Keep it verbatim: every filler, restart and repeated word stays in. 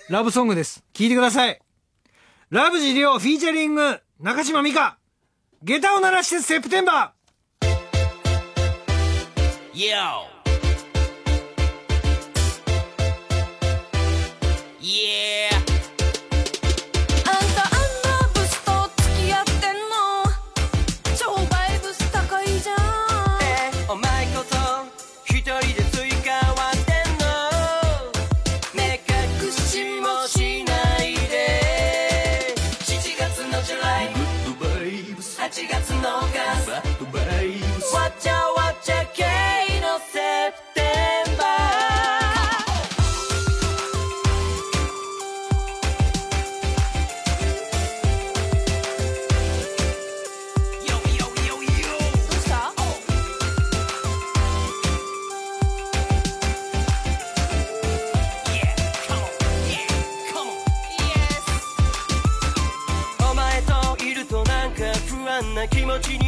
ラブソングです。聴いてください。ラブジリオフィーチャリング中島美嘉、下駄を鳴らしてセプテンバー。 Yo Yeah あんたあんなブスと付き合ってんの、超バイブス高いじゃん。 えお前こそ一人で追加割ってんの、目隠しもしないで。しちがつのジュライ、はちがつのガス、わちゃわちゃ系のセプテンバー。気持ちに